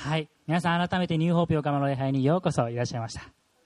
はい、皆さん改めてニューホープ横浜の礼拝にようこそいらっしゃいました。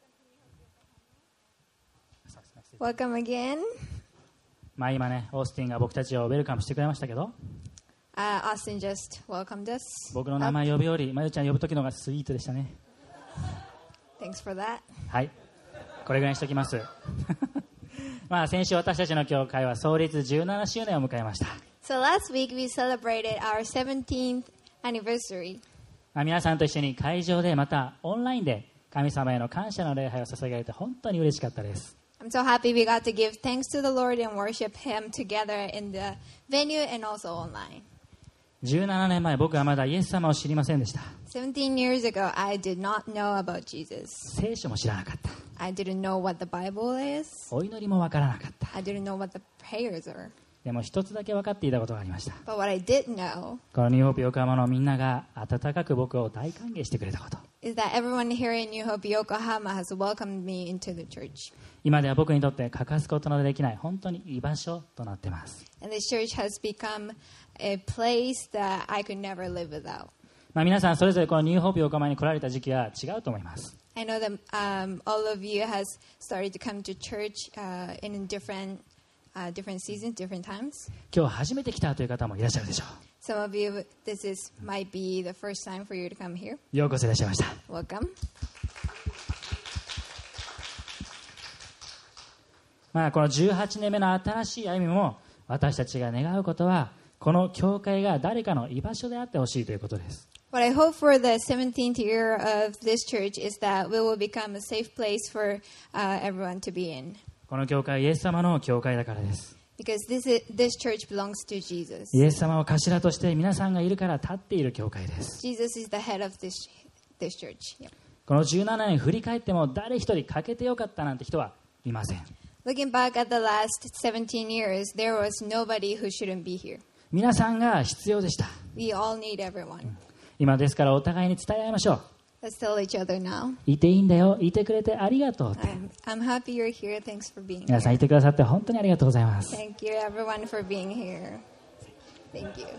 Welcome again. 今ね、オースティンが僕たちをウェルカムしてくれましたけど、 Austin just welcomed us. 僕の名前呼ぶよりまゆちゃん呼ぶ時の方がスイートでしたね。 Thanks for that. はい、これぐらいにしときます先週私たちの教会は創立17周年を迎えました。 So last week we celebrated our 17th anniversary. 皆さんと一緒に会場でまたオンラインで神様への感謝の礼拝を捧げられて本当に嬉しかったです。 I'm so happy we got to give thanks to the Lord and worship Him together in the venue and also online. 17年前、僕はまだイエス様を知りませんでした。 17 years ago, I did not know about Jesus. 聖書も知らなかった。 I didn't know what the Bible is. お祈りもわからなかった。 I didn't know what the prayers are. でも一つだけ分かっていたことがありました。 But what I did know このニューホープ横浜のみんなが温かく僕を大歓迎してくれたこと。 is that everyone here in New Hope Yokohama has welcomed me into the church. 今では僕にとって欠かすことのできない本当に居場所となっています。 And this church has become a place that I could never live without. 皆さんそれぞれこのニューホープ横浜に来られた時期は違うと思います。 I know that all of you has started to come to church in different seasons, different times. 今日初めて来たという方もいらっしゃるでしょ Some of you, might be the first time for you to come here. う。ようこそいらっしゃいました。 Welcome. この18年目の新しい歩みも私たちが願うことはこの教会が誰かの居場所であってほしいということです。 What I hope for the 17th year of this church is that we will become a safe place for everyone to be in. この教会はイエス様の教会だからです。 Because this church belongs to Jesus. イエス様を頭として皆さんがいるから立っている教会です。 Jesus is the head of this church. Yeah. この17年振り返っても誰一人欠けてよかったなんて人はいません。 Looking back at the last 17 years, there was nobody who shouldn't be here. 皆さんが必要でした。 We all need everyone. 今ですからお互いに伝え合いましょう。 Let's tell each other now. いていいんだよ、いてくれてありがとうって。 I'm happy you're here. Thanks for being 皆さん here. いてくださって本当にありがとうございます。 Thank you, everyone, for being here. Thank you.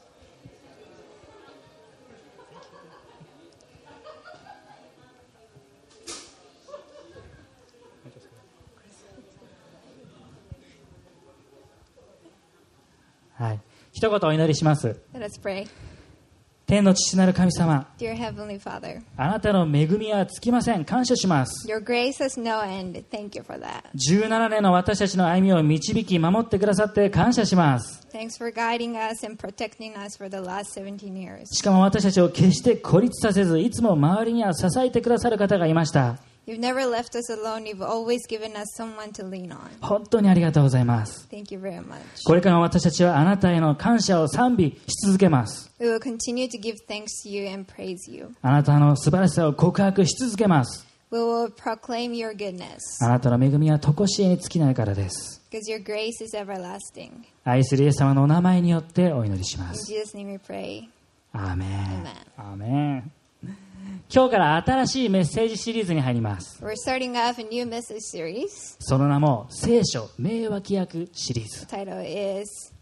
はい、一言お祈りします。 Let us pray. 天の父なる神様、 Dear Heavenly Father, あなたの恵みは尽きません。感謝します。 your grace has no end. Thank you for that. 17年の私たちの歩みを導き守ってくださって感謝します。 Thanks for guiding us and protecting us for the last 17 years. しかも私たちを決して孤立させず、いつも周りには支えてくださる方がいました。 You've never left us alone. You've always given us someone to lean on. 本当にありがとうございます。 Thank you very much. これからも私たちはあなたへの感謝を賛美し続けます。 We will continue to give thanks to you and praise you. あなたの素晴らしさを告白し続けます。 We will proclaim your goodness あなたの恵みは常しえに尽きないからです。 because your grace is everlasting. 愛するイエス様のお名前によってお祈りしま In す。 Jesus' name we pray. アーメン。 Amen. アーメン。今日から新しいメッセージシリーズに入ります。 We're starting off a new message series. その名も聖書名脇役シリーズ。 The title is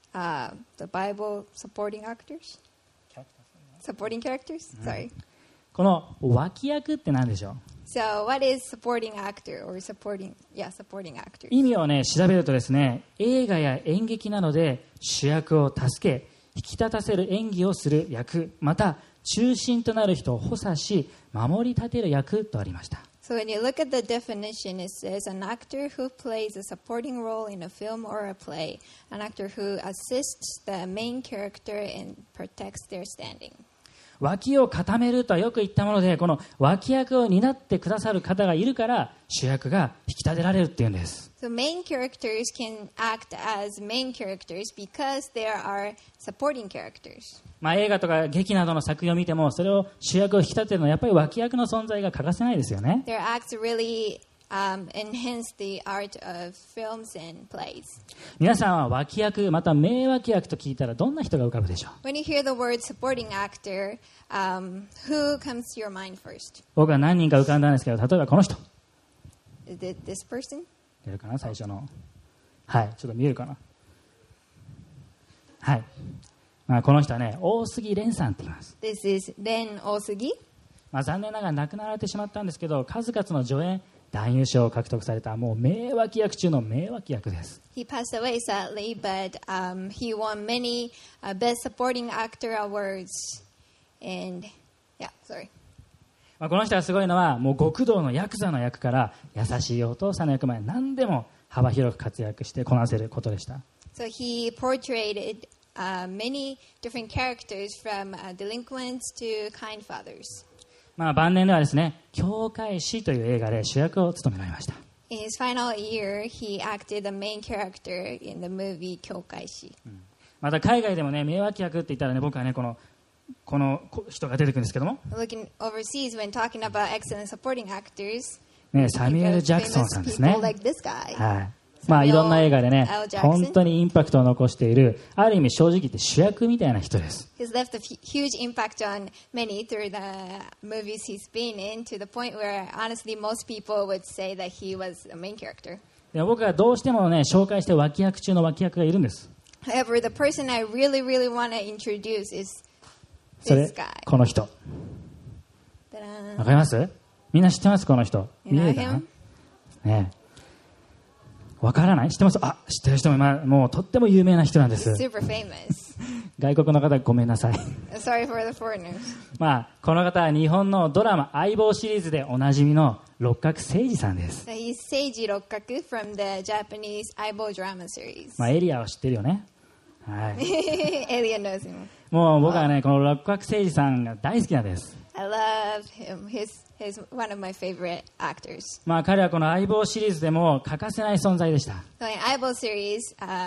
the Bible supporting actors. Supporting characters? Sorry. この脇役って何でしょう。 So what is supporting actor or supporting actors? 意味をね調べるとですね、映画や演劇などで主役を助け引き立たせる演技をする役、また中心となる人を補佐し守り立てる役とありました。 So when you look at the definition, it says an actor who plays a supporting role in a film or a play, an actor who assists the main character and protects their standing. 脇を固めるとはよく言ったもので、この脇役を担ってくださる方がいるから主役が引き立てられるっていうんです。 So main characters can act as main characters because there are supporting characters. 映画とか劇などの作品を見てもそれを主役を引き立てるのはやっぱり脇役の存在が欠かせないですよね。 Their acts really enhance the art of films and plays. 皆さんは脇役また名脇役と聞いたらどんな人が浮かぶでしょう。 When you hear the word supporting actor, who comes to your mind first? 僕は何人か浮かんだんですけど、例えばこの人 Is it this person? 出るかな、最初の。はい、ちょっと見えるかな。はい、 この人はね、大杉蓮さんって言います。 This is Ren Osugi. 残念ながら亡くなられてしまったんですけど、数々の助演男優賞を獲得されたもう名脇役中の名脇役です。 He passed away sadly, but he won many Best Supporting Actor awards. And yeah, sorry. この人がすごいのは、もう極道のヤクザの役から優しいお父さんの役まで何でも幅広く活躍してこなせることでした。 So he portrayed many different characters from delinquents to kind fathers. 晩年ではですね、教会師という映画で主役を務められました。 In his final year, he acted the main character in the movie 教会師。 また海外でもね、名脇役って言ったらね、僕はね、この人が出てくるんですけども、 Looking overseas when talking about excellent supporting actors, ね、サミュエル・ジャクソンさんですね。 people like this guy. はい。いろんな映画でね Samuel L. Jackson 本当にインパクトを残している、ある意味正直言って主役みたいな人です。 He's left a huge impact on many through the movies he's been in, to the point where honestly most people would say that he was a main character. でも僕がどうしてもね、紹介して脇役中の脇役がいるんです。 However, the person I really want to introduce is そ this れ guy. この人。 Ta-da. わかります？みんな知ってます？この人。 You 見 know えるかな him? ね。わからない？知ってます？知ってる人ももうとっても有名な人なんです。 Super famous. 外国の方ごめんなさい。 Sorry for the foreigners. この方は日本のドラマ相棒シリーズでおなじみの六角誠治さんです。 So he's Seiji Rokkaku from the Japanese Aibo drama series. エリアを知ってるよね。はい。 Alien knows him. もう僕はね、この六角誠治さんが大好きなんです。 I love him. He's one of my favorite actors. 彼はこの相棒シリーズでも欠かせない存在でした。 So in Aibo series,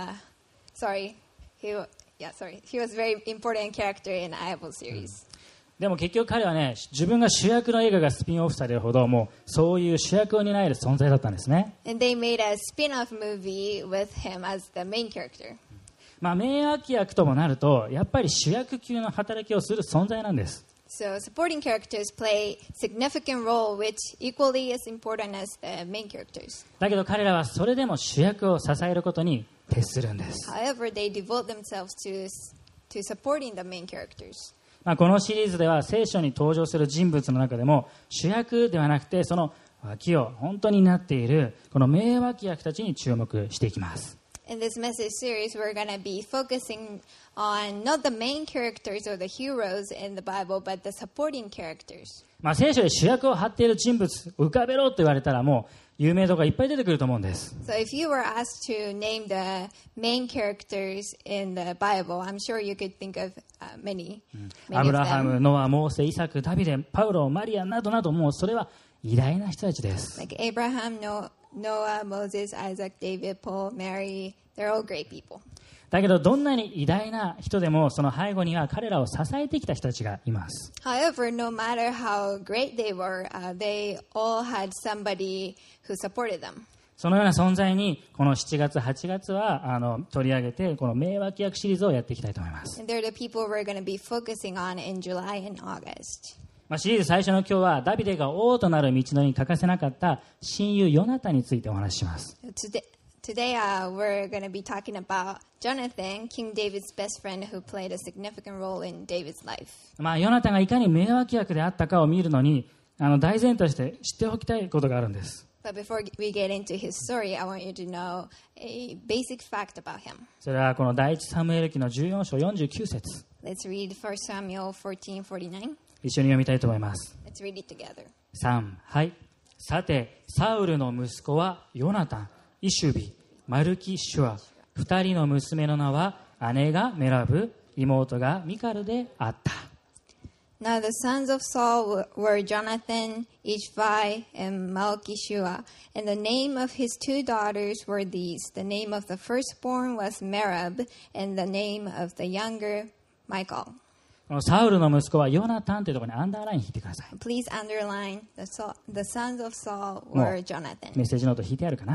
he was a very important character in Aibo series. でも結局彼はね、自分が主役の映画がスピンオフされるほど、もうそういう主役を担える存在だったんですね。 And they made a spin-off movie with him as the main character. 名脇役ともなると、やっぱり主役級の働きをする存在なんです。 So supporting characters play significant role, which equally is important as the main characters. だけど彼らはそれでも主役を支えることに徹するんです。 However, they devote themselves to supporting the main characters. このシリーズでは聖書に登場する人物の中でも主役ではなくて、その脇を本当になっているこの名脇役たちに注目していきます。 In this message series, we're going to be focusing on not the main characters or the heroes in the Bible, but the supporting characters. 聖書で主役を張っている人物浮かべろと言われたら、もう有名度がいっぱい出てくると思うんです。 So if you were asked to name the main characters in the Bible, I'm sure you could think of many ア of ブラハム、 them. ノア、モーセ、イサク、ダビデ、パウロ、マリアなどなど、もうそれは偉大な人たちです。 Like Abraham, Noah, Moses, Isaac, David, Paul, Mary, they're all great people. だけどどんなに偉大な人でも、その背後には彼らを支えてきた人たちがいます。 However, no matter how great they were, they all had somebody who supported them. そのような存在にこの7月8月は取り上げて、この名脇役シリーズをやっていきたいと思います。 And they're the people we're going to be focusing on in July and August. シリーズ最初の今日はダビデが王となる道のりに欠かせなかった親友ヨナタンについてお話しします。 Today we're going to be talking about Jonathan, King David's best friend who played a significant role in David's life. ヨナタンがいかに名脇役であったかを見るのに大前提として知っておきたいことがあるんです。 But before we get into his story, I want you to know a basic fact about him. それはこの第一サムエル記の14章49節。 Let's read 1 Samuel 14:49. 一緒に読みたいと思います。 Let's read it together. 3、はい。さて、サウルの息子はヨナタン、イシュビ、マルキシュア、2人の娘の名は姉がメラブ、妹がミカルであった。 Now the sons of Saul were Jonathan, Ishvi, and Malchishua, and the name of his two daughters were these. The name of the firstborn was Merab, and the name of the younger, Michal. このサウルの息子はヨナタンというところにアンダーライン引いてください。 Please underline the sons of Saul were Jonathan. メッセージノート引いてあるかな。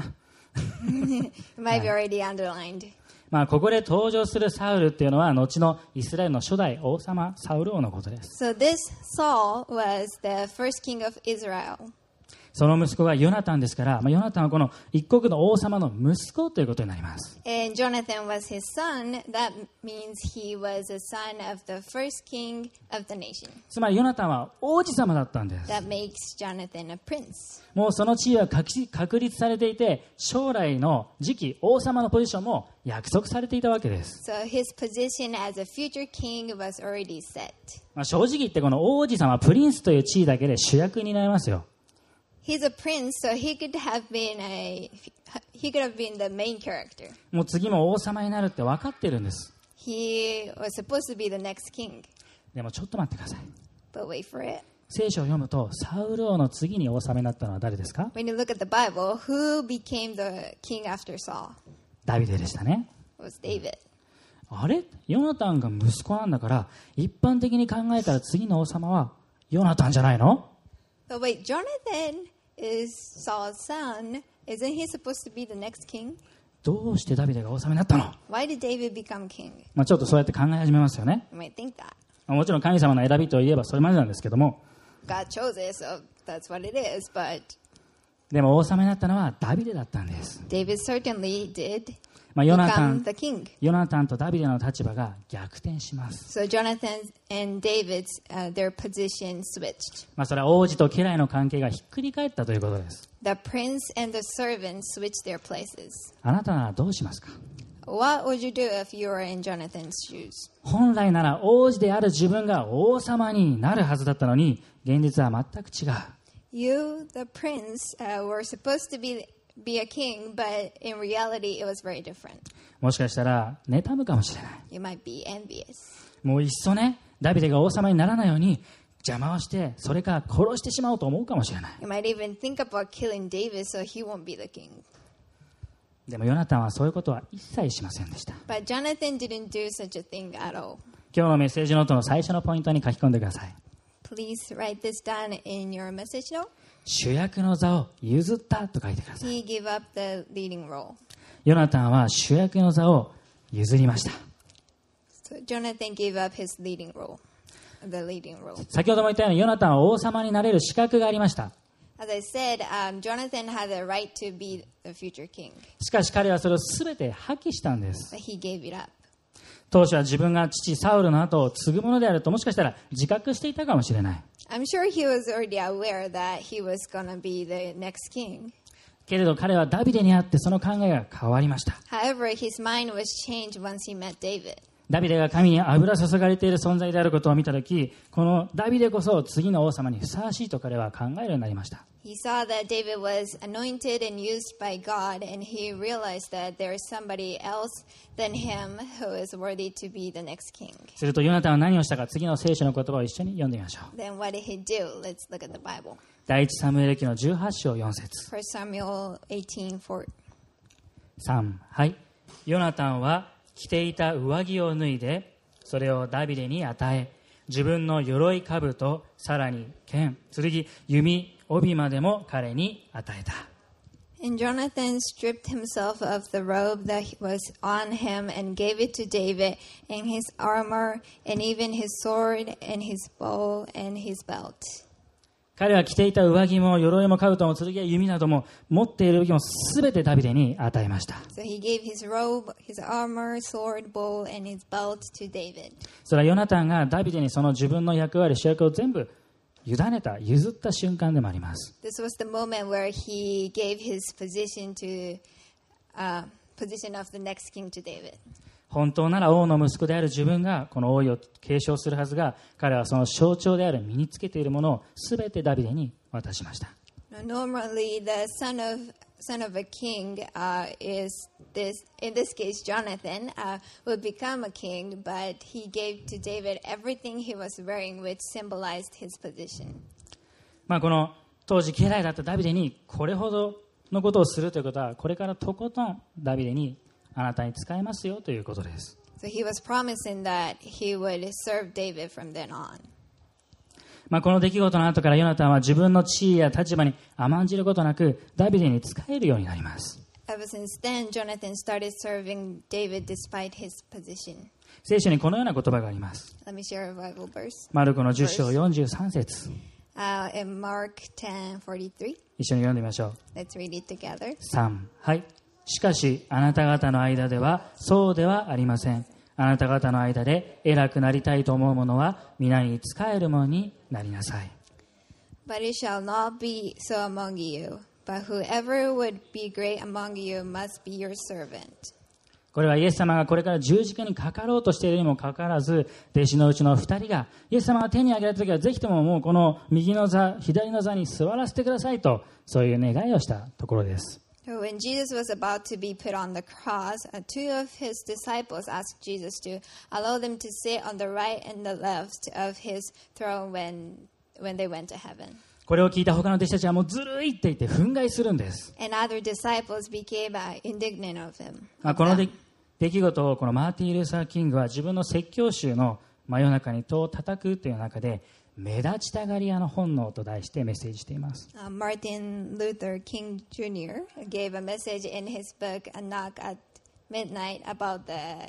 It might be already underlined. ここで登場するサウルっていうのは後のイスラエルの初代王様サウル王のことです。 So this Saul was the first king of Israel. その息子がヨナタンですから、ヨナタンはこの一国の王様の息子ということになります。 And Jonathan was his son. That means he was a son of the first king of the nation. つまりヨナタンは王子様だったんです。 That makes Jonathan a prince. もうその地位は確立されていて、将来の次期王様のポジションも約束されていたわけです。 So his position as a future king was already set. 正直言ってこの王子様、プリンスという地位だけで主役になりますよ。 He's a prince, so he could have been the main character. もう次も王様になるって分かってるんです。 He was supposed to be the next king. でもちょっと待ってください。 But wait for it. 聖書を読むと、サウル王の次に王様になったのは誰ですか？ When you look at the Bible, who became the king after Saul? ダビデでしたね。 It was David. あれ？ヨナタンが息子なんだから、一般的に考えたら次の王様はヨナタンじゃないの？ But wait, Jonathan is Saul's son. Isn't he supposed to be the next king? どうしてダビデが王様になったの？ Why did David become king? ちょっとそうやって考え始めますよね。 You might think that. もちろん神様の選びといえばそれまでなんですけども、 God chose it, so that's what it is. But でも王様になったのはダビデだったんです。 David certainly did ヨナタ become ン the king. とダビデの立場が逆転します。 So Jonathan and David's their position switched. それは王子と家来の関係がひっくり返ったということです。 The prince and the servant switched their places. あなたならどうしますか？ What would you do if you were in Jonathan's shoes? 本来なら王子である自分が王様になるはずだったのに、現実は全く違う。 You, the prince, were supposed to be a king, but in reality, it was very different. もしかしたら妬むかもしれない。 You might be envious. もういっそね、ダビデが王様にならないように邪魔をして、それから殺してしまおうと思うかもしれない。 You might even think about killing David so he won't be the king. でもヨナタンはそういうことは一切しませんでした。 But Jonathan didn't do such a thing at all. 今日のメッセージノートの最初のポイントに書き込んでください。 Please write this down in your message note. 主役の座を譲ったと書いてください。 He gave up the leading role. ヨナタンは主役の座を譲りました。 So Jonathan gave up his leading role, the leading role. 先ほども言ったようにヨナタンは王様になれる資格がありました。 As I said, Jonathan had the right to be the future king, しかし彼はそれを全て破棄したんです。 but he gave it up. 当初は自分が父サウルの後を継ぐものであるともしかしたら自覚していたかもしれない。 I'm sure he was already aware that he was going to be the next king. けれど彼はダビデにあってその考えが変わりました。 However, his mind was changed once he met David. ダビデが神に油注がれている存在であることを見たとき、このダビデこそ次の王様にふさわしいと彼は考えるようになりました。 He saw that David was anointed and used by God, and he realized that there is somebody else than him who is worthy to be the next king. するとヨナタンは何をしたか、次の聖書の言葉を一緒に読んでみましょう。 Then what did he do? Let's look at the Bible. 第一サムエル記の18章4節 1 Samuel 18:4. 3、はい。ヨナタンは着ていた上着を脱いで、それをダビデに与え、自分の鎧兜、さらに剣、剣、弓、帯までも彼に与えた。 And Jonathan stripped himself of the robe that was on him and gave it to David, and his armor, and even his sword, and his bow, and his belt. 彼は着ていた上着も鎧も兜も剣や弓なども持っている武器もすべてダビデに与えました。 So he gave his robe, his armor, sword, bow, and his belt to David. それはヨナタンがダビデにその自分の役割、主役を全部委ねた、譲った瞬間でもあります。 This was the moment where he gave his position of the next king to David. 本当なら王の息子である自分がこの王位を継承するはずが、彼はその象徴である身につけているものをすべてダビデに渡しました。 Normally, the son of a king in this case, Jonathan, would become a king, but he gave to David everything he was wearing, which symbolized his position. この当時家来だったダビデにこれほどのことをするということは、これからとことんダビデにあなたに使えますよということです。 So he was promising that he would serve David from then on. この出来事の後からヨナタンは自分の地位や立場に甘んじることなくダビデに仕えるようになります。 Ever since then, Jonathan started serving David despite his position. 聖書にこのような言葉があります。 Let me share a Bible verse. マルコの10章43節 In Mark 10:43. 一緒に読んでみましょう。 Let's read it together. 3、はい。しかしあなた方の間ではそうではありません。あなた方の間で偉くなりたいと思う者は皆に仕える者になりなさい。 But it shall not be so among you. But whoever would be great among you must be your servant. これはイエス様がこれから十字架にかかろうとしているにもかかわらず、弟子のうちの2人がイエス様が手に挙げられた時はぜひとももうこの右の座左の座に座らせてくださいと、そういう願いをしたところです。 So when Jesus was about to be put on the cross, two of his disciples asked Jesus to allow them to sit on the right and the left of his throne when they went to heaven. これを聞いた他の弟子たちはもうずるいって言って憤慨するんです。 And other disciples became indignant of him. この出来事をこのマーティン・ルーサー・キングは自分の説教集の真夜中に戸を叩くという中で目立ちたがり屋の本能と題してメッセージしています。 Martin Luther King Jr. gave a message in his book A Knock at Midnight about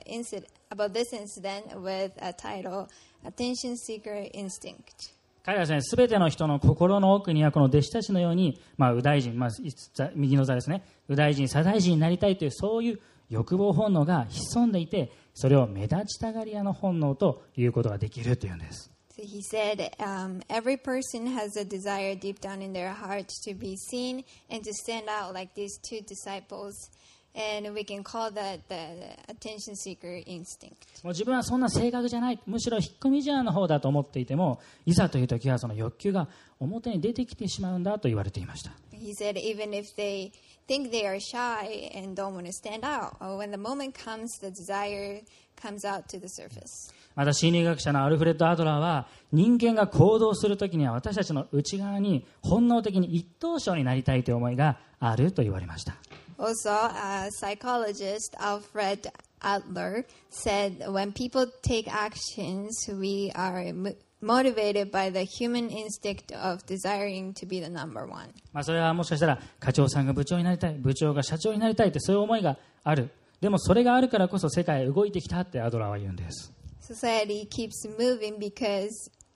this incident with a title Attention Seeker Instinct. 彼はですね、すべての人の心の奥にはこの弟子たちのように、右大臣、右の座ですね、右大臣、左大臣になりたいというそういう欲望本能が潜んでいて、それを目立ちたがり屋の本能ということができるというんです。 So he said, every person has a desire deep down in their heart to be seen and to stand out like these two disciples. And we can call that the attention seeker instinct. もう自分はそんな性格じゃない、むしろ引っ込み思案の方だと思っていても、いざという時はその欲求が表に出てきてしまうんだと言われていました。 He said even if they think they are shy and don't want to stand out, when the moment comes, the desire comes out to the surface. また心理学者のアルフレッド・アドラーは、人間が行動するときには私たちの内側に本能的に一等賞になりたいという思いがあると言われました。 Also, psychologist Alfred Adler said when people take actions, we are motivated by the human instinct of desiring to be the number one. それはもしかしたら課長さんが部長になりたい、部長が社長になりたいってそういう思いがある。でもそれがあるからこそ世界へ動いてきたってアドラーは言うんです。 Society keeps moving because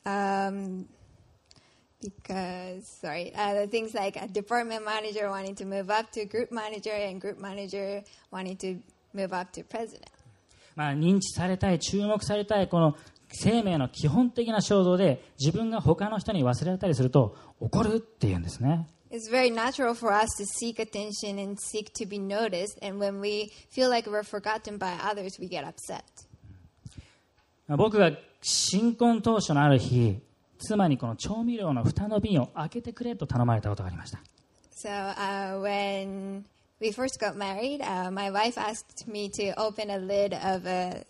things like a department manager wanting to move up to group manager and group manager wanting to move up to president. 認知されたい、注目されたいこの生命の基本的な衝動で自分が他の人に忘れられたりすると怒るっていうんですね。 It's very natural for us to seek attention and seek to be noticed, and when we feel like we're forgotten by others, we get upset. 僕が新婚当初のある日、妻にこの調味料の蓋の瓶を開けてくれと頼まれたことがありました。 So when we first got married, my wife asked me to open a lid of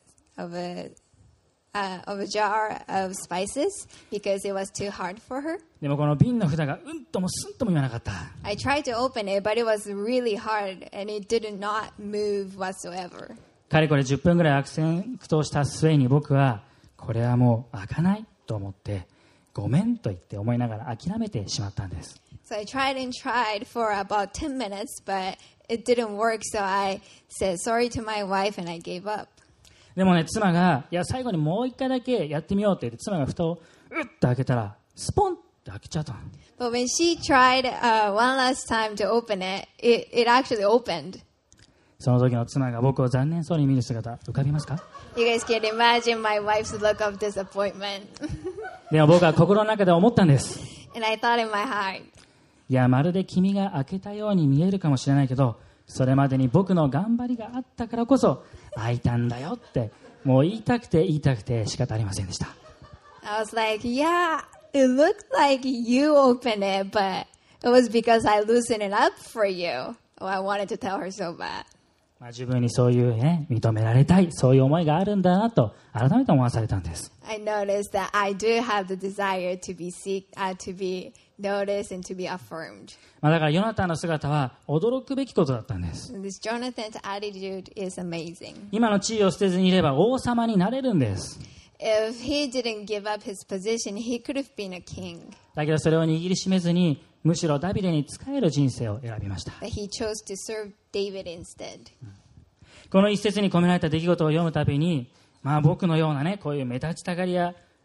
a jar of spices because it was too hard for her. でもこの瓶の蓋がうんともすんとも言わなかった。 I tried to open it, but it was really hard and it did not move whatsoever. かれこれ10分ぐらい悪戦苦闘した末に僕はこれはもう開かないと思ってごめんと言って思いながら諦めてしまったんです。 So I tried and tried for about 10 minutes, but it didn't work. So I said sorry to my wife and I gave up. でもね、妻がいや最後にもう一回だけやってみようって言って妻が蓋をうっと開けたらスポンって開けちゃったの。 But when she tried one last time to open it, it actually opened. その時の妻が僕を残念そうに見る姿浮かびますか？ You guys can imagine my wife's look of disappointment. でも僕は心の中で思ったんです。 And I thought in my heart, いやまるで君が開けたように見えるかもしれないけど、それまでに僕の頑張りがあったからこそ開いたんだよってもう言いたくて仕方ありませんでした。 I was like, yeah, it looked like you opened it, but it was because I loosened it up for you. Oh, I wanted to tell her so bad. 自分にそういうね、認められたい、そういう思いがあるんだなと改めて思わされたんです。 I noticed that I do have the desire to be noticed and to be affirmed. だからヨナタンの姿は驚くべきことだったんです。 This Jonathan's attitude is amazing. 今の地位を捨てずにいれば王様になれるんです。 If he didn't give up his position, he could have been a king. だけどそれを握りしめずに、むしろダビデに仕える人生を選びました。 But he chose to serve David instead. この一節に込められた出来事を読むたびに、僕のようなね、こういう目立ちたがり屋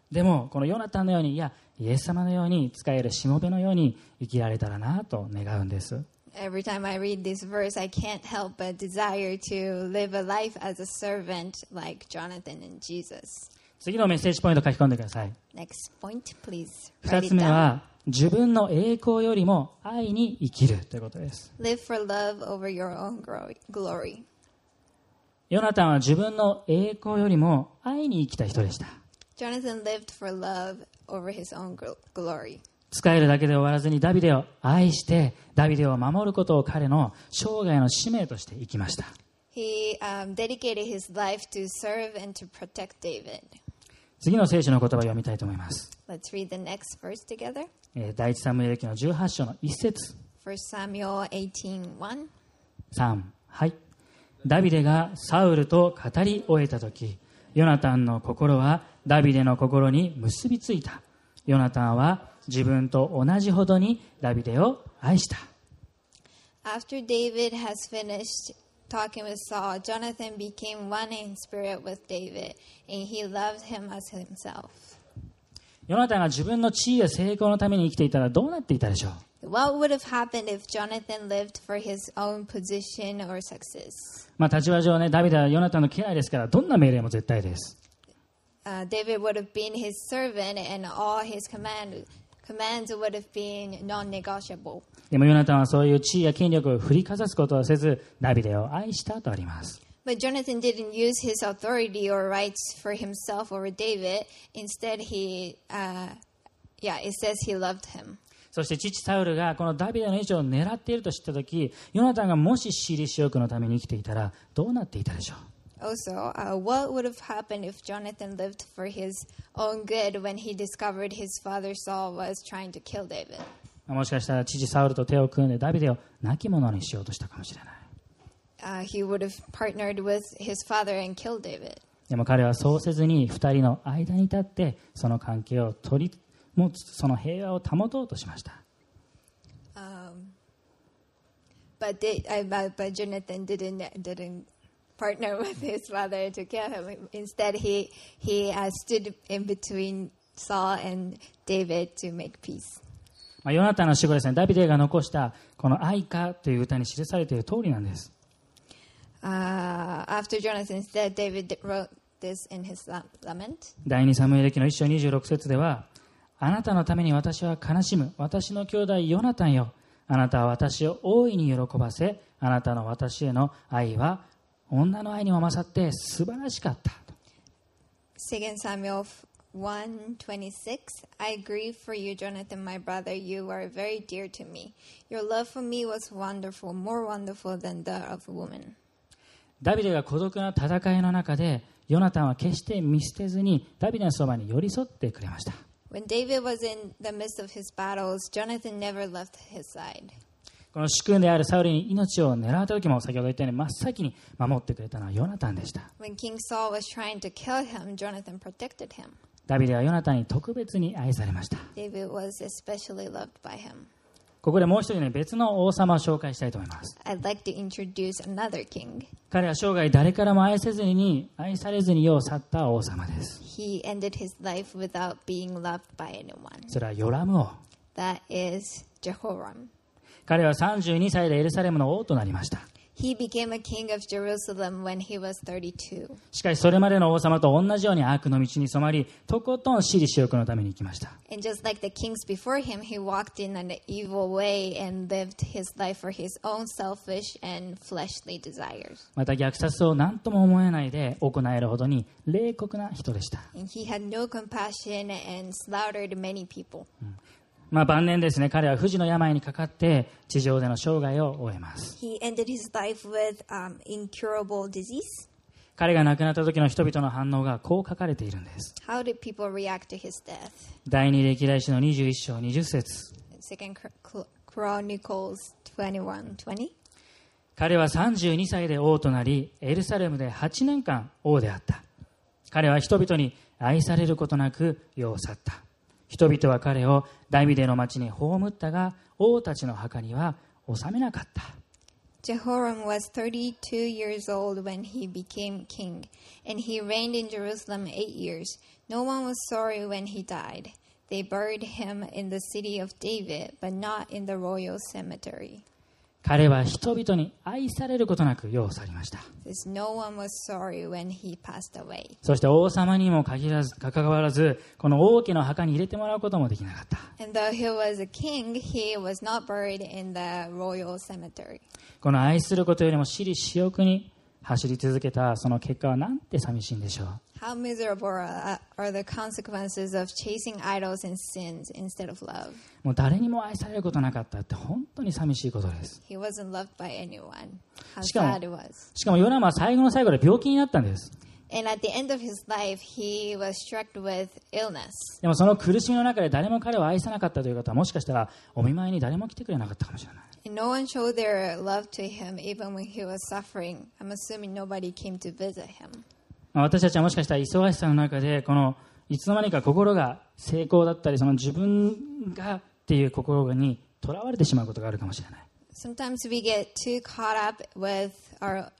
でもこのヨナタンのように、いやイエス様のように使えるしもべのように生きられたらなと願うんです。 Every time I read this verse, I can't help but desire to live a life as a servant like Jonathan and Jesus. 次のメッセージポイント書き込んでください。 Next point, please. 2 Write つ it 目 down. は自分の栄光よりも愛に生きるということです。 Live for love over your own glory. ヨナタンは自分の栄光よりも愛に生きた人でした。 Jonathan lived for love over his own glory. 使えるだけで終わらずにダビデを愛してダビデを守ることを彼の生涯の使命として生きました。 He dedicated his life to serve and to protect David. 次の聖書の言葉を読みたいと思います。 Let's read the next verse together. 第一サムエル記の18章の1節 1 Samuel 18:1. 3、はい。ダビデがサウルと語り終えたとき、ヨナタンの心はダビデの心に結びついた。ヨナタンは自分と同じほどにダビデを愛した。 After David has finished talking with Saul, Jonathan became one in spirit with David, and he loved him as himself. ヨナタンが自分の地位や成功のために生きていたらどうなっていたでしょう。 What would have happened if Jonathan lived for his own position or success? 立場上ね、ダビデはヨナタンの家来ですから、どんな命令も絶対です。 David would have been his servant, and all his commands would have been non-negotiable. でもヨナタンはそういう地位や権力を振りかざすことをせず、ダビデを愛したとあります。 But Jonathan didn't use his authority or rights for himself over David. Instead, it says he loved him. そして父サウルがこのダビデの位置を狙っていると知ったとき、ヨナタンがもし私利私欲のために生きていたらどうなっていたでしょう。 Also, what would have happened if Jonathan lived for his own good when he discovered his father Saul was trying to kill David? もしかしたら父サウルと手を組んでダビデを亡き者にしようとしたかもしれない。 He would have partnered with his father and killed David. でも彼はそうせずに2人の間に立ってその関係を取り持つ、その平和を保とうとしました。 But Jonathan didn't partner with his father to kill him. Instead, he stood in between Saul and David to make peace. ヨナタンの死後ですね、ダビデが残したこの愛歌という歌に記されている通りなんです。 After Jonathan's death, David wrote this in his lament. 第2サムエル記の1章26節では、あなたのために私は悲しむ。私の兄弟ヨナタンよ。あなたは私を大いに喜ばせ、あなたの私への愛は女の愛にも勝って素晴らしかった。 2 Samuel 1:26. I grieve for you, Jonathan, my brother. You are very dear to me. Your love for me was wonderful, more wonderful than that of a woman. ダビデが孤独な戦いの中で、ヨナタンは決して見捨てずにダビデのそばに寄り添ってくれました。 When David was in the midst of his battles, Jonathan never left his side. この主君であるサウルに命を狙った時も、先ほど言ったように真っ先に守ってくれたのはヨナタンでした。 When King Saul was trying to kill him, Jonathan protected him. ダビデはヨナタンに特別に愛されました。 David was especially loved by him. ここでもう一人ね、別の王様を紹介したいと思います。 I'd like to introduce another king. 彼は生涯誰からも愛されずに世を去った王様です。 He ended his life without being loved by anyone. それはヨラム王。 That is Jehoram. 彼は32歳でエルサレムの王となりました。 He became a king of Jerusalem when he was 32. しかしそれまでの王様と同じように悪の道に染まり、とことん私利私欲のために生きました。 And just like the kings before him, he walked in an evil way and lived his life for his own selfish and fleshly desires. また虐殺を何とも思えないで行えるほどに冷酷な人でした。 And he had no compassion and slaughtered many people. 晩年ですね、彼は不治の病にかかって地上での生涯を終えます。 He ended his life with incurable disease. 彼が亡くなった時の人々の反応がこう書かれているんです。 How did people react to his death? 第二歴代史の21章20節。 2 Chronicles 21:20. 彼は32歳で王となり、エルサレムで8年間王であった。彼は人々に愛されることなく世を去った。人々は彼をダビデの町に葬ったが、王たちの墓には収めなかった。 Jehoram was 32 years old when he became king, and he reigned in Jerusalem 8 years. No one was sorry when he died. They buried him in the city of David, but not in the royal cemetery. 彼は人々に愛されることなく世を去りました。 No one was sorry when he passed away. そして王様にもかかわらず、この王家の墓に入れてもらうこともできなかった。 And though he was a king, he was not buried in the royal cemetery. この愛することよりも私利私欲に走り続けたその結果はなんて寂しいんでしょう。 How miserable are the consequences of chasing idols and sins instead of love. もう誰にも愛されることなかったって本当に寂しいことです。 He wasn't loved by anyone. How しか sad it was. もヨナムは最後の最後で病気になったんです。 And at the end of his life, he was struck with illness. でもその苦しみの中で誰も彼を愛さなかったという方はもしかしたらお見舞いに誰も来てくれなかったかもしれない。 And no one showed their love to him even when he was suffering. I'm assuming nobody came to visit him. 私たちはもしかしたら忙しさの中でこのいつの間にか心が成功だったりその自分がっていう心にとらわれてしまうことがあるかもしれない。 Sometimes we get too caught up with our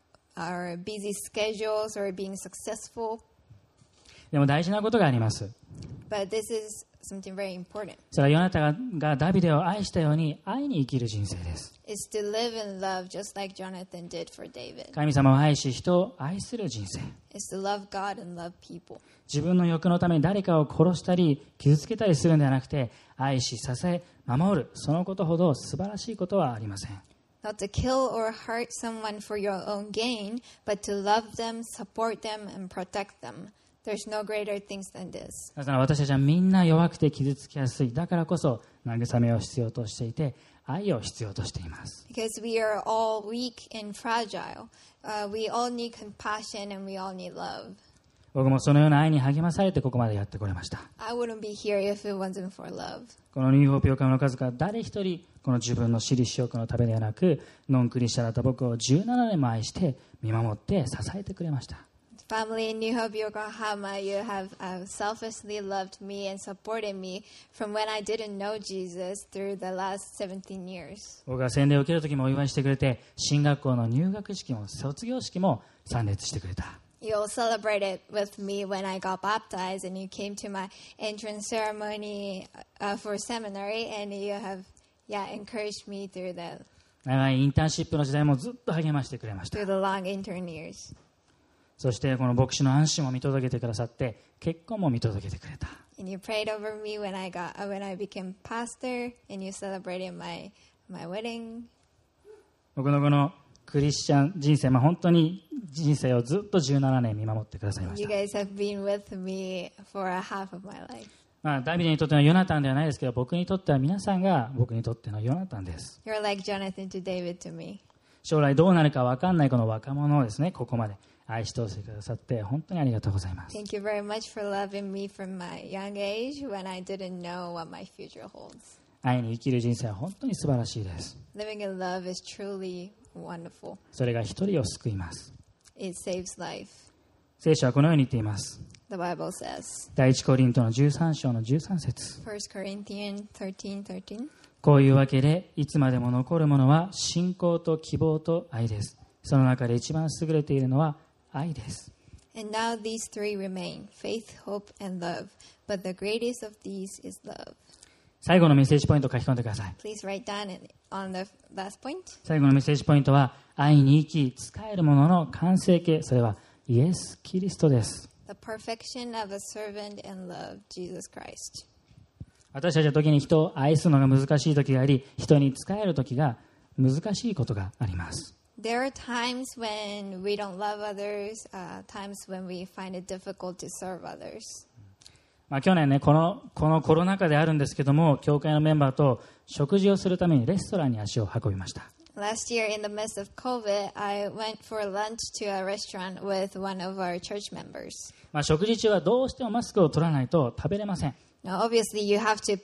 busy schedules or being successful. でも大事なことがあります。 But this is something very important. それはヨナタがダビデを愛したように愛に生きる人生です。 It's to live in love just like Jonathan did for David. 神様を愛し人を愛する人生。 It's to love God and love people. 自分の欲のために誰かを殺したり傷つけたりするのではなくて愛し支え守るそのことほど素晴らしいことはありません。 Not to kill or hurt someone for your own gain, but to love them, support them, and protect them. There's no greater things than this. だから私たちはみんな弱くて傷つきやすい。だからこそ慰めを必要としていて愛を必要としています。 Because we are all weak and fragile. We all need compassion and we all need love. 僕もそのような愛に励まされてここまでやってこれました。 I wouldn't be here if it wasn't for love. このニューホープ横浜の数々誰一人この自分の私利私欲のためではなくノンクリスチャンだった僕を17年も愛して見守って支えてくれました。 Family in New Hope, Yokohama, you have selflessly loved me and supported me from when I didn't know Jesus through the last 17 years. 僕が洗礼を受ける時もお祝いしてくれて進学校の入学式も卒業式も参列してくれた。 You all celebrated with me when I got baptized, and you came to my entrance ceremony for seminary, and you have, encouraged me through the 長いインターンシップの時代もずっと励ましてくれました。 through the long intern years. そしてこの牧師の安心も見届けてくださって結婚も見届けてくれた。 And you prayed over me when I became pastor, and you celebrated my wedding. 僕のこのクリスチャン人生、本当に人生をずっと17年見守ってくださいまし You た。 guys have been with me for a half of my life. ダビデにとってのヨナタンではないですけど、僕にとっては皆さんが僕にとってのヨナタンです。 You're like Jonathan to David to me. 将来どうなるか分かんないこの若者をですね、ここまで愛し通してくださって本当にありがとうございます。 Thank you very much for loving me from my young age when I didn't know what my future holds. 愛に生きる人生は本当に素晴らしいです。 Living in love is truly wonderful. それが一人を救います。 It saves life. 聖書はこのように言っています。 The Bible says, 第一コリントの13章の13節 1 Corinthians 13:13. こういうわけでいつまでも残るものは信仰と希望と愛です。その中で一番優れているのは愛です。 And now these three remain, faith, hope, and love. But the greatest of these is love. 最後のメッセージポイントを書き込んでください。 Please write down on the last point. 最後のメッセージポイントは愛に生き仕えるものの完成形、それはイエス・キリストです。 The perfection of a servant and love, Jesus Christ. 私たちは時に人を愛するのが難しい時があり、人に仕える時が難しいことがあります。 There are times when we don't love others, times when we find it difficult to serve others. 去年ね、このコロナ禍であるんですけども、教会のメンバーと食事をするためにレストランに足を運びました。 Last year, in the midst of COVID, I went for lunch to a restaurant with one of our church members. 食事中はどうしてもマスクを取らないと食べれません。 Now, obviously, you have to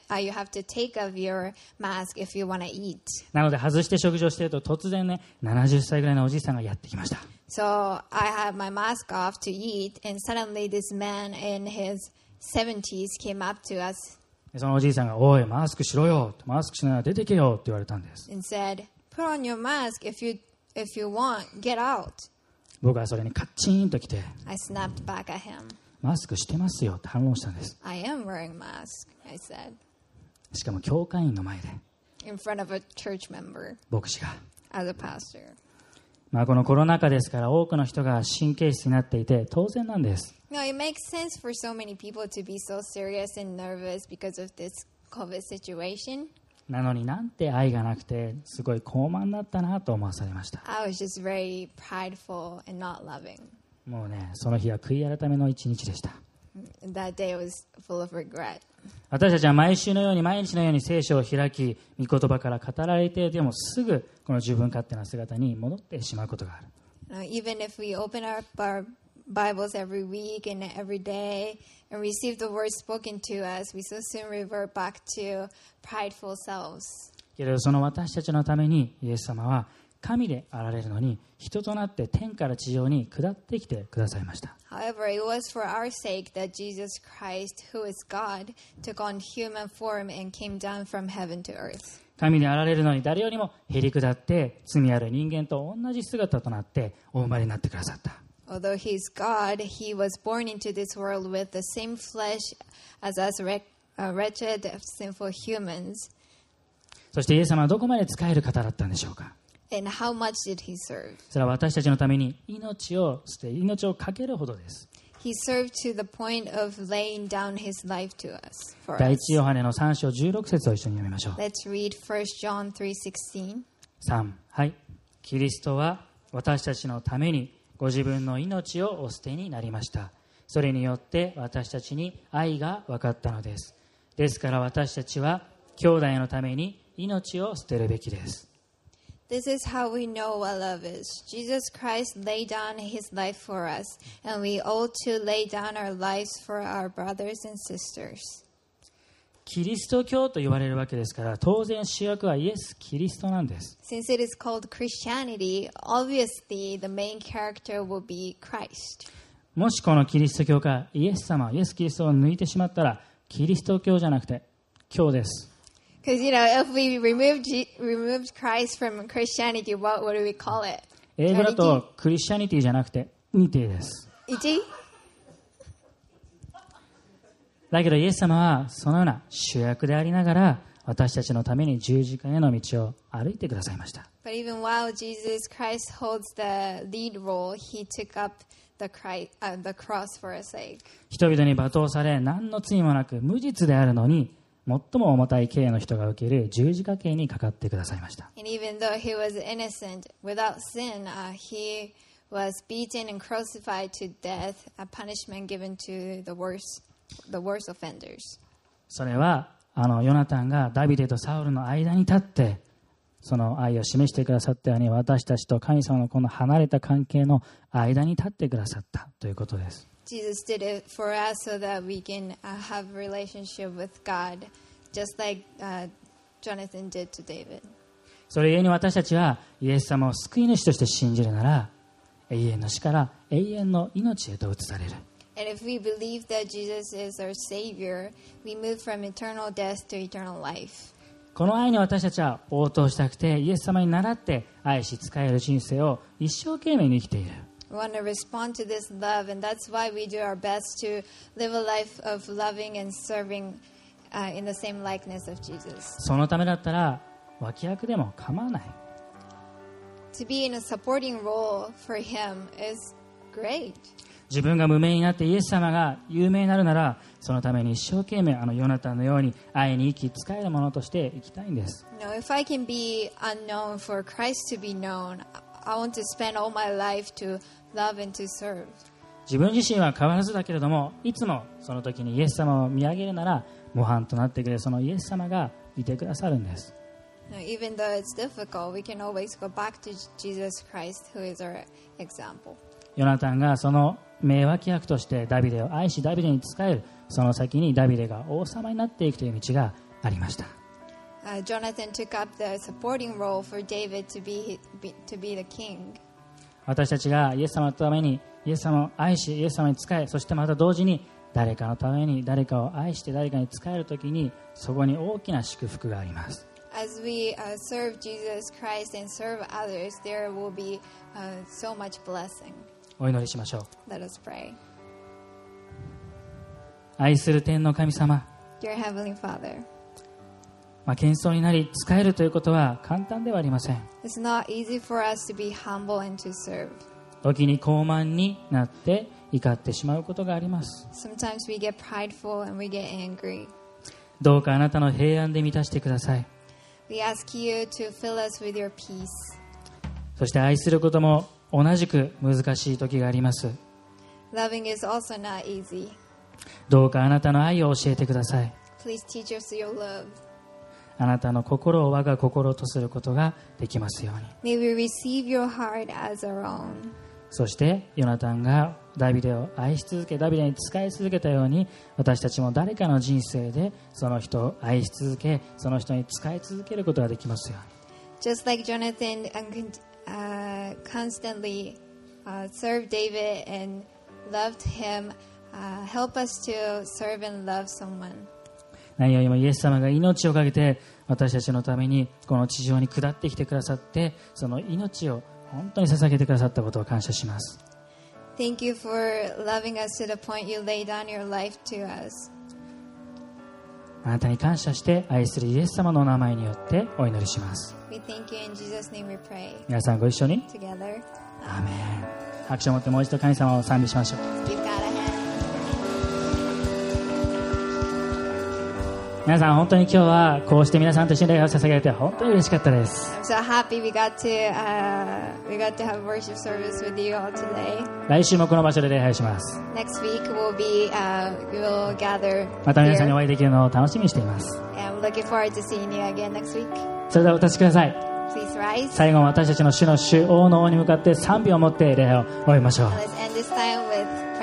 take off your mask if you want to eat. なので外して食事をしていると突然ね、70歳ぐらいのおじいさんがやってきました。 So I had my mask off to eat, and suddenly this man in his 70s came up to us そのおじいさんが、おい、マスクしろよ、マスクしながら出てけよって言われたんです。 and said, "Put on your mask if you want. Get out." 僕はそれにカッチンと来て、 I snapped back at him. マスクしてますよって反論したんです。 I am wearing mask, I said, しかも教会員の前で in front of a church member 牧師が、 as a pastor. このコロナ禍ですから多くの人が神経質になっていて当然なんです。 No, it makes sense for so many people to be so serious and nervous because of this COVID situation. なのになんて愛がなくてすごい高慢だったなと思わされました。 I was just very prideful and not loving. もうね、その日は悔い改めの一日でした。 That day was full of regret. 私たちは毎週のように毎日のように聖書を開き、御言葉から語られてでもすぐこの自分勝手な姿に戻ってしまうことがある。 Even if we open up our Bibles every week and every day and receive the word spoken to us, we so soon revert back to prideful selves. けれどその私たちのためにイエス様は神であられるのに人となって天から地上に下ってきてくださいました。 However, it was for our sake that Jesus Christ, who is God, took on human form and came down from heaven to earth. 神であられるのに誰よりもへり下って罪ある人間と同じ姿となってお生まれになってくださった。 Although he is God, he was born into this world with the same flesh as us wretched, sinful humans. そしてイエス様はどこまで仕える方だったんでしょうか。 And how much did he serve? それは私たちのために命を捨て命を懸けるほどです。 He served to the point of laying down his life to us. For 第 us. 一ヨハネの3章16節を一緒に読みましょう。 Let's read 1 John 3:16. 3、はい。キリストは私たちのためにご自分の命をお捨てになりました。それによって私たちに愛が分かったのです。ですから私たちは兄弟のために命を捨てるべきです。 This is how we know what love is. Jesus Christ laid down his life for us, and we ought to lay down our lives for our brothers and sisters. キリスト教と言われるわけですから当然主役はイエス・キリストなんです。 Since it is called Christianity, obviously the main character will be Christ. もしこのキリスト教がイエス様、イエス・キリストを抜いてしまったらキリスト教じゃなくて教です。 Because, if we removed Christ from Christianity, what would we call it? 英語だとクリスチャニティじゃなくてニティです。 Iti? だけどイエス様はそのような主役でありながら私たちのために十字架への道を歩いてくださいました。 But even while Jesus Christ holds the lead role, he took up the cross for our sake. 人々に罵倒され何の罪もなく無実であるのに最も重たい刑の人が受ける十字架刑にかかってくださいました。 And even though he was innocent, without sin, he was beaten and crucified to death, a punishment given to the worst offenders. それはヨナタンがダビデとサウルの間に立ってその愛を示してくださったように私たちと神様のこの離れた関係の間に立ってくださったということです。 Jesus did it for us so that we can have a relationship with God, just like Jonathan did to David. それゆえに私たちはイエス様を救い主として信じるなら永遠の死から永遠の命へと移される。 And if we believe that Jesus is our Savior, we move from eternal death to eternal life. この愛に私たちは応答したくてイエス様に倣って愛し仕える人生を一生懸命に生きている。 We want to respond to this love, and that's why we do our best to live a life of loving and serving in the same likeness of Jesus. そのためだったら脇役でも構わない。 To be in a supporting role for Him is great. 自分が無名になってイエス様が有名になるならそのために一生懸命ヨナタンのように愛に生き仕えるものとして生きたいんです。 If I can be unknown for Christ to be known, I want to spend all my life to love and to serve. 自分自身は変わらずだけれどもいつもその時にイエス様を見上げるなら模範となってくれるそのイエス様がいてくださるんです。 Even though it's difficult, we can always go back to Jesus Christ, who is our example. ヨナタンがその名脇役としてダビデを愛しダビデに仕えるその先にダビデが王様になっていくという道がありました。 Jonathan took up the supporting role for David to be the king. 私たちがイエス様のためにイエス様を愛しイエス様に仕えそしてまた同時に誰かのために誰かを愛して誰かに仕えるときにそこに大きな祝福があります。 As we serve Jesus Christ and serve others, there will be so much blessing. お祈りしましょう。 Let us pray. 愛する天の神様、 Dear Heavenly Father, 謙遜になり仕えるということは簡単ではありません。 it's not easy for us to be humble and to serve. 時に傲慢になって怒ってしまうことがあります。 Sometimes we get prideful and we get angry. どうかあなたの平安で満たしてください。 We ask you to fill us with your peace. そして愛することも同じく難しい時があります。 Loving is also not easy. どうかあなたの愛を教えてください。 Please teach us your love. あなたの心を我が心とすることができますように。 May we receive your heart as our own. そしてヨナタンがダビデを愛し続け、ダビデに仕え続けたように、私たちも誰かの人生でその人を愛し続け、その人に仕え続けることができますように。 Just like Jonathan constantly served David and loved him, help us to serve and love someone. 何よりもイエス様が命をかけて私たちのためにこの地上に下ってきてくださって、その命を本当に捧げてくださったことを感謝します。 Thank you for loving us to the point you laid down your life to us. あなたに感謝して愛するイエス様のお名前によってお祈りします。 We thank you in Jesus' name we pray. 皆さんご一緒に Together, アーメン。拍手を持ってもう一度神様を賛美しましょう。 give God a hand. 皆さん本当に今日はこうして皆さんと一緒に礼拝を捧げられて本当に嬉しかったです。 I'm so happy we got to have worship service with you all today. 来週もこの場所で礼拝します。 Next week we will gather また皆さんにお here. 会いできるのを楽しみにしています。 And I'm looking forward to seeing you again next week. それではお立ちください。 Please rise. 最後は私たちの主の主王の王に向かって賛美を持って礼拝を終えましょう。 Let's end this time with